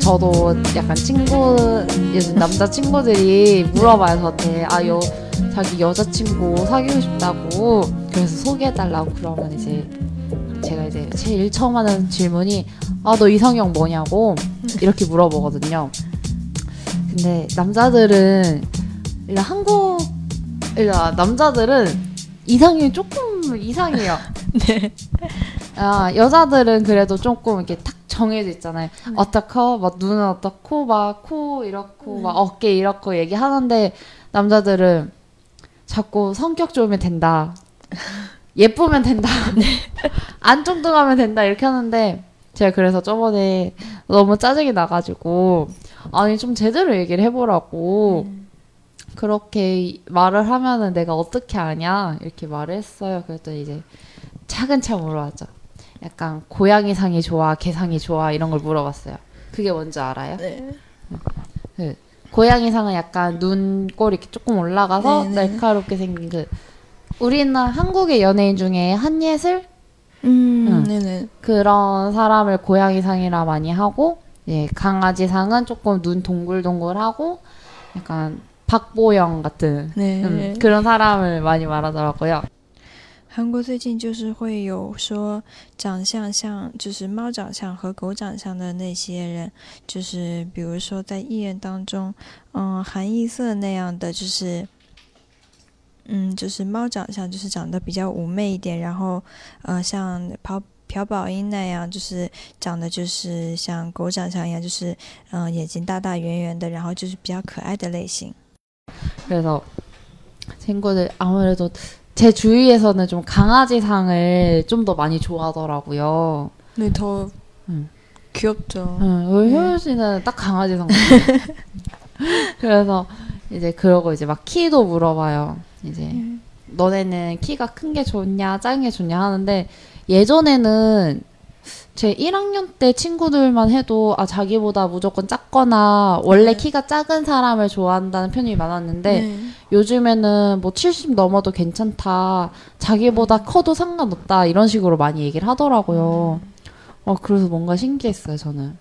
저도 약간 요즘 남자친구들이 물어봐요, 저한테. 자기 여자친구 사귀고 싶다고. 그래서 소개해달라고. 그러면 이제 제가 이제 제일 처음 하는 질문이 너 이상형 뭐냐고 이렇게 물어보거든요. 근데 남자들은 남자들은 이상형이 조금 이상해요. 네. 여자들은 그래도 조금 이렇게 탁 정해져 있잖아요. 어떻고, 막 눈은 어떻고, 막 코 이렇고, 막 어깨 이렇고 얘기하는데 남자들은 자꾸 성격 좋으면 된다. 예쁘면 된다. 안 뚱뚱하면 된다. 이렇게 하는데 제가 그래서 저번에 너무 짜증이 나가지고 아니 좀 제대로 얘기를 해보라고 그렇게 말을 하면은 내가 어떻게 아냐 이렇게 말을 했어요. 그랬더니 이제 차근차근 물어봤죠. 약간 고양이상이 좋아, 개상이 좋아 이런 걸 물어봤어요. 그게 뭔지 알아요? 네. 고양이상은 약간 눈꼬리 이렇게 조금 올라가서 네네. 날카롭게 생긴 우리는 한국의 연예인 중에 한예슬? 네네. 그런 사람을 고양이상이라 많이 하고, 예, 강아지상은 조금 눈 동글동글하고, 약간 박보영 같은 네. 그런 사람을 많이 말하더라고요. 韩国最近就是会有说长相像就是猫长相和狗长相的那些人，就是比如说在艺人当中，韩艺瑟那样的就是就是猫长相，就是长得比较妩媚一点，然后像朴宝英那样，就是长得就是像狗长相一样，就是眼睛大大圆圆的，然后就是比较可爱的类型。 그래서 친구들 아무래도 제 주위에서는 좀 강아지상을 좀 더 많이 좋아하더라고요. 네, 더 귀엽죠. 우리 효연 씨는 딱 강아지상 같아요. 그래서 이제 그러고 이제 막 키도 물어봐요. 이제 너네는 키가 큰 게 좋냐 작은 게 좋냐 하는데 예전에는 제 1학년 때 친구들만 해도 자기보다 무조건 작거나 원래 키가 작은 사람을 좋아한다는 편이 많았는데 요즘에는 뭐 70 넘어도 괜찮다. 자기보다 커도 상관없다. 이런 식으로 많이 얘기를 하더라고요. 그래서 뭔가 신기했어요, 저는.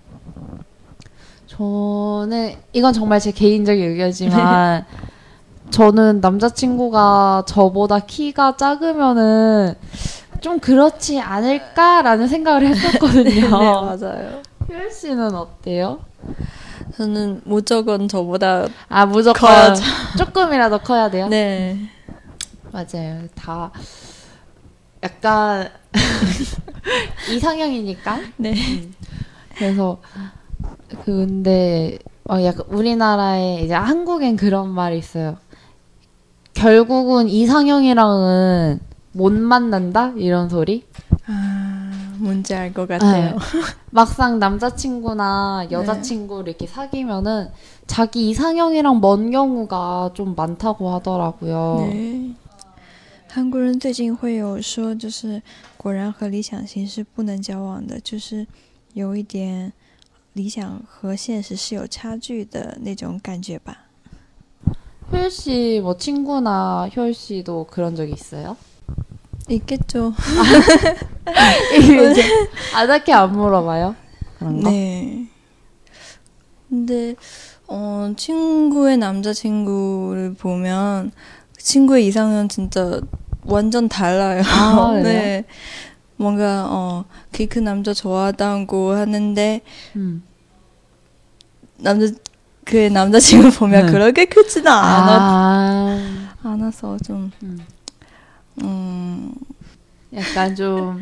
이건 정말 제 개인적인 의견이지만 저는 남자친구가 저보다 키가 작으면은 좀 그렇지 않을까라는 생각을 했었거든요. 네, 맞아요. 효연 씨는 어때요? 저는 무조건 저보다 무조건 커야죠. 조금이라도 커야 돼요? 네. 맞아요. 다 약간 이상형이니까. 네. 그래서 근데 약간 우리나라에 이제 한국엔 그런 말이 있어요. 결국은 이상형이랑은 못 만난다? 이런 소리? 뭔지 알 것 같아요. 네. 막상 남자친구나 여자친구를 이렇게 사귀면은 자기 이상형이랑 먼 경우가 좀 많다고 하더라고요. 네. 韩国人最近会有说，就是果然和理想型是不能交往的，就是有一点理想和现实是有差距的那种感觉吧。 효율 씨 뭐 친구나 효율 씨도 그런 적 있어요? 있겠죠. 이제 딱히 안 물어봐요? 그런 거? 네. 근데 친구의 남자친구를 보면 친구의 이상은 진짜 완전 달라요. 네. 뭔가 그 남자 좋아하다고 하는데 그 남자친구 보면 그렇게 크지는 않아서 좀 약간 좀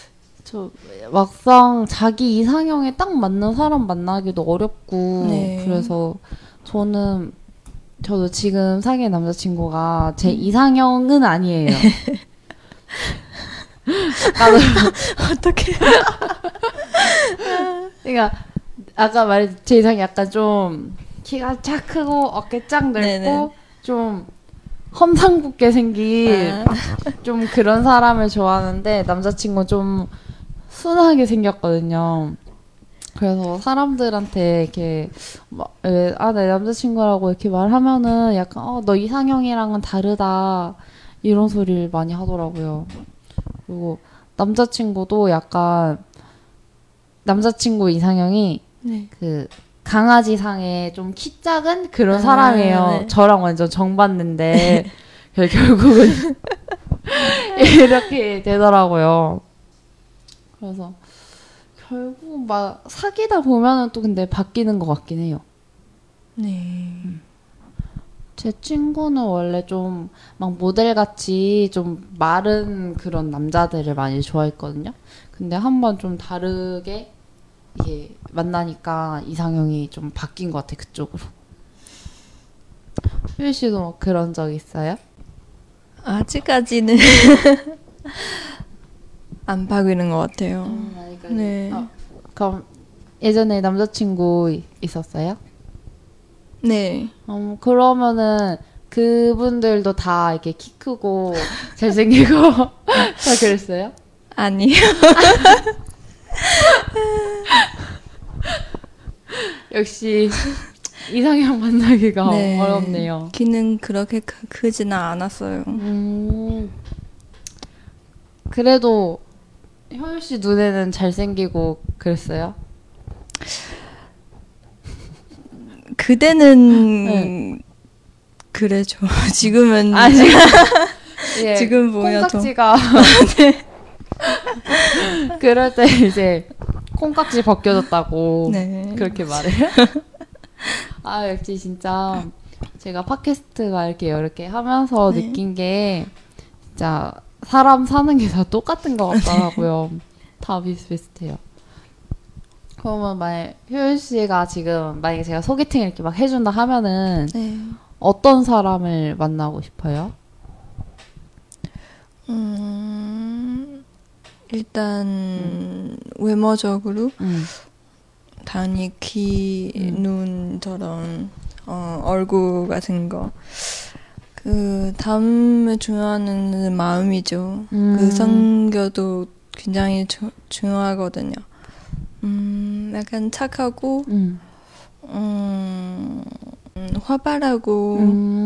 막상 자기 이상형에 딱 맞는 사람 만나기도 어렵고 그래서 저도 지금 사귄 남자친구가 제 이상형은 아니에요. 어떡해. 그러니까 아까 말했듯이 제 이상이 약간 좀 키가 쫙 크고 어깨 쫙 넓고 좀 험상궂게 생긴 좀 그런 사람을 좋아하는데 남자친구는 좀 순하게 생겼거든요. 그래서 사람들한테 이렇게 내 남자친구라고 이렇게 말하면은 약간 너 이상형이랑은 다르다 이런 소리를 많이 하더라고요. 그리고 남자친구도 약간 남자친구 이상형이 그 강아지상에 좀 키 작은 그런 사람이에요. 네. 저랑 완전 정반대인데 결국은 이렇게 되더라고요. 그래서 결국 막 사귀다 보면은 또 근데 바뀌는 것 같긴 해요. 네. 제 친구는 원래 좀 막 모델같이 좀 마른 그런 남자들을 많이 좋아했거든요. 근데 한번 좀 다르게 이게 만나니까 이상형이 좀 바뀐 것 같아, 그쪽으로. 효유 씨도 뭐 그런 적 있어요? 아직까지는 안 바뀌는 것 같아요. 네. 그럼 예전에 남자친구 있었어요? 네. 그러면은 그분들도 다 이렇게 키 크고 잘생기고 다 그랬어요? 아니요. 역시 이상형 만나기가 네. 어렵네요. 키는 그렇게 크지는 않았어요. 그래도 효유 씨 눈에는 잘생기고 그랬어요? 그때는 네. 그래죠. 지금은 예, 지금 보여도 콩깍지가 그럴 때 이제 콩깍지 벗겨졌다고 네. 그렇게 말해요? 아 역시 진짜 제가 팟캐스트가 이렇게 여러 개 하면서 네. 느낀 게 진짜 사람 사는 게 다 똑같은 것 같더라고요. 다 비슷비슷해요. 그러면 만약 효율 씨가 지금 만약에 제가 소개팅 이렇게 막 해준다 하면은 네. 어떤 사람을 만나고 싶어요? 일단 외모적으로 음. 당연히 귀, 눈 저런 얼굴 같은 거. 그 다음에 중요한 마음이죠. 그 성격도 굉장히 중요하거든요. 약간 착하고 활발하고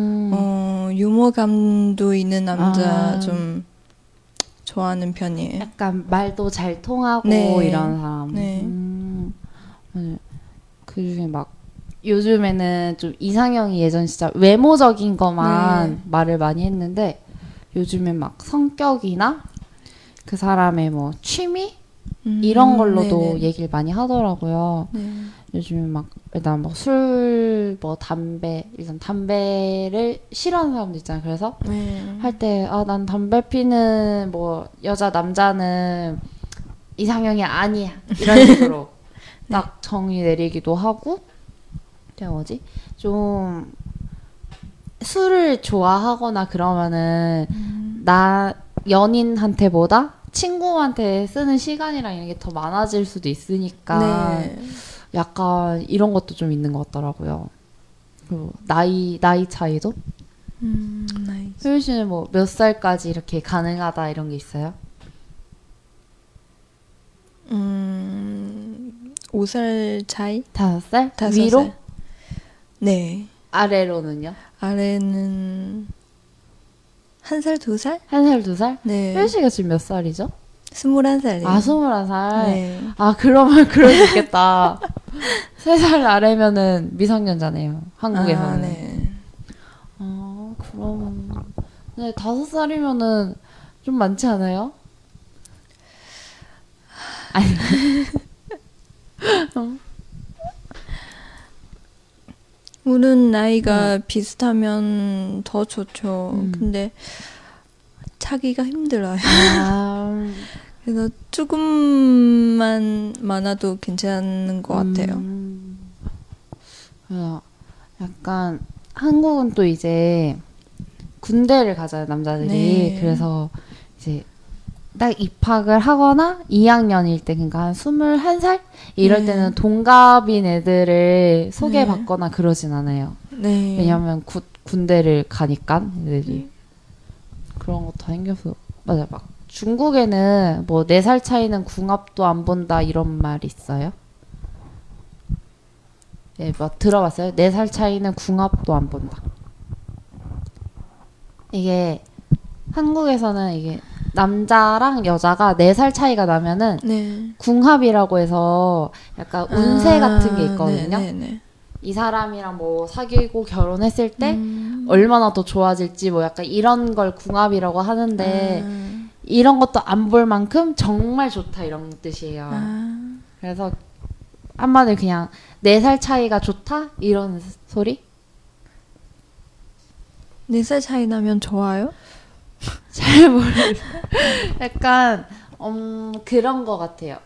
유머감도 있는 남자 좀 좋아하는 편이에요. 약간 말도 잘 통하고 네. 이런 사람. 네. 네. 그중에 막 요즘에는 좀 이상형이 예전 진짜 외모적인 것만 네. 말을 많이 했는데 요즘엔 막 성격이나 그 사람의 뭐 취미 이런 걸로도 네네. 얘기를 많이 하더라고요. 네. 요즘에 막 일단 뭐 술, 뭐 담배, 일단 담배를 싫어하는 사람도 있잖아요. 그래서 네. 할 때 아, 난 담배 피는 뭐 여자 남자는 이상형이 아니야 이런 식으로 딱 정의 내리기도 하고 제가 뭐지 좀 술을 좋아하거나 그러면은 나 연인한테보다 친구한테 쓰는 시간이랑 이런 게 더 많아질 수도 있으니까 네. 약간 이런 것도 좀 있는 것 같더라고요. 그리고 나이 차이도 나이스. 효율 씨는 뭐 몇 살까지 이렇게 가능하다 이런 게 있어요? 5살 차이? 5살? 5살. 위로? 네. 아래로는요? 아래는 1살, 2살? 1살, 2살? 네. 효율 씨가 지금 몇 살이죠? 21살이에요. 아, 21살? 네. 아, 그러면 그럴 수 있겠다. 3살 아래면은 미성년자네요. 한국에서는. 아, 네. 아, 그럼. 네, 5살이면은 좀 많지 않아요? 아니. 우는 나이가 비슷하면 더 좋죠. 근데 차기가 힘들어요. 아, 그래서 조금만 많아도 괜찮은 것 같아요. 그래서 약간 한국은 또 이제 군대를 가잖아요, 남자들이. 네. 그래서 이제 딱 입학을 하거나 2학년일 때, 그러니까 한 21살? 이럴 네. 때는 동갑인 애들을 소개받거나 그러진 않아요. 네. 왜냐면 군대를 가니까 애들이. 그런 것도 생겨서. 맞아요. 막 중국에는 뭐 4살 차이는 궁합도 안 본다 이런 말 있어요? 예, 뭐 들어봤어요? 4살 차이는 궁합도 안 본다. 이게 한국에서는 이게 남자랑 여자가 4살 차이가 나면은 네. 궁합이라고 해서 약간 운세 같은 게 있거든요. 네네네. 이 사람이랑 뭐 사귀고 결혼했을 때 얼마나 더 좋아질지 뭐 약간 이런 걸 궁합이라고 하는데 이런 것도 안 볼 만큼 정말 좋다 이런 뜻이에요. 그래서 한마디로 그냥 4살 차이가 좋다 이런 소리? 4살 차이 나면 좋아요? 잘 모르겠어요. 약간 그런 거 같아요.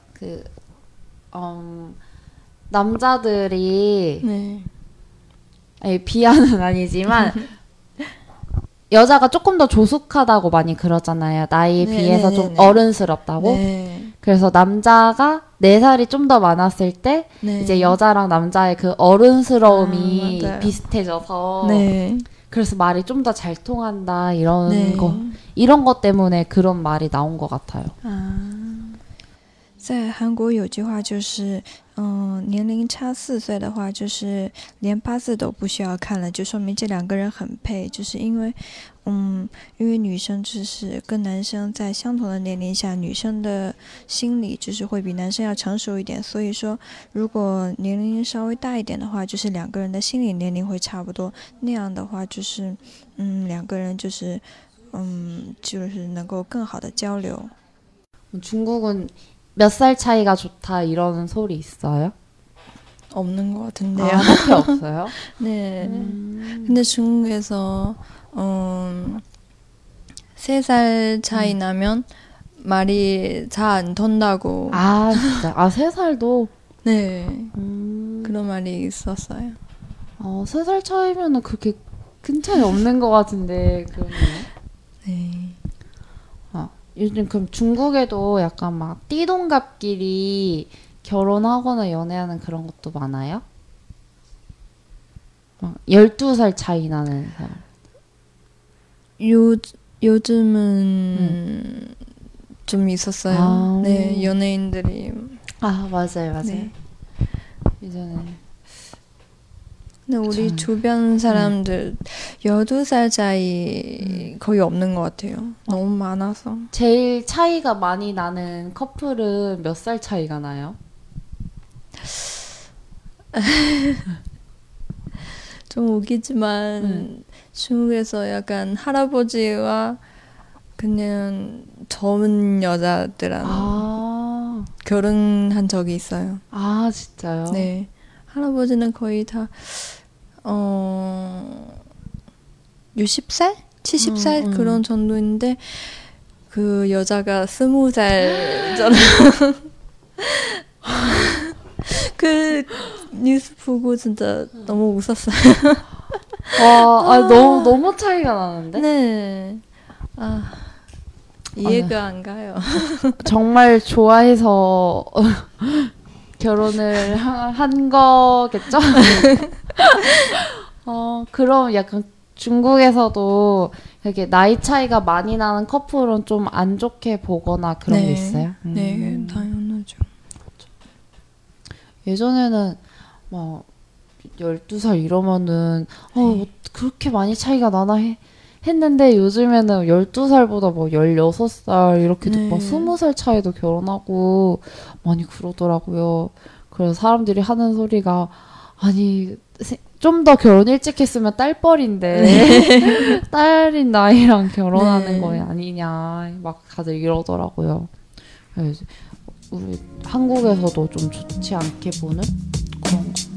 남자들이 네. 아니, 비하는 아니지만 여자가 조금 더 조숙하다고 많이 그러잖아요. 나이에 네, 비해서 네, 좀 네, 네. 어른스럽다고. 네. 그래서 남자가 4살이 좀 더 많았을 때 네. 이제 여자랑 남자의 그 어른스러움이 맞아요. 비슷해져서 네. 그래서 말이 좀 더 잘 통한다 이런 네. 거 이런 것 때문에 그런 말이 나온 것 같아요. 在韩国有句话就是，年龄差4岁的话，就是连八字都不需要看了，就说明这两个人很配。就是因为，因为女生就是跟男生在相同的年龄下，女生的心理就是会比男生要成熟一点，所以说，如果年龄稍微大一点的话，就是两个人的心理年龄会差不多，那样的话就是，两个人就是，就是能够更好的交流。 중국은 몇 살 차이가 좋다 이런 소리 있어요? 없는 것 같은데요. 아, 그렇게 없어요? 네. 근데 중국에서 3살 차이 나면 말이 잘 안 통다고. 아, 진짜. 아, 3살도? 네. 그런 말이 있었어요. 3살 차이면은 그렇게 큰 차이 없는 것 같은데, 그러네요. 네. 요즘 그럼 중국에도 약간 막 띠동갑끼리 결혼하거나 연애하는 그런 것도 많아요? 막 12살 차이 나는 사람. 요즘은 좀 있었어요. 아. 네, 연예인들이. 아, 맞아요, 맞아요. 네. 예전에. 근데 우리 참. 주변 사람들 12살 차이 거의 없는 것 같아요. 너무 많아서. 제일 차이가 많이 나는 커플은 몇 살 차이가 나요? 좀 웃기지만 중국에서 약간 할아버지와 그냥 젊은 여자들랑 결혼한 적이 있어요. 아, 진짜요? 네. 할아버지는 거의 다 60살? 70살 그런 정도인데 그 여자가 20살 전 그 뉴스 보고 진짜 너무 웃었어요. 와, 너무 차이가 나는데? 네. 이해가 안 가요. 정말 좋아해서 결혼을 한 거겠죠? 그럼 약간 중국에서도 이렇게 나이 차이가 많이 나는 커플은 좀 안 좋게 보거나 그런 게 있어요? 네, 당연하죠. 예전에는 막 12살 이러면은 그렇게 많이 차이가 나나 했는데 요즘에는 12살보다 뭐 16살 이렇게 막 20살 차이도 결혼하고 많이 그러더라고요. 그래서 사람들이 하는 소리가 아니 좀 더 결혼 일찍 했으면 딸뻘인데 딸인 나이랑 결혼하는 거 아니냐 막 다들 이러더라고요. 그래서 우리 한국에서도 좀 좋지 않게 보는 그런 거.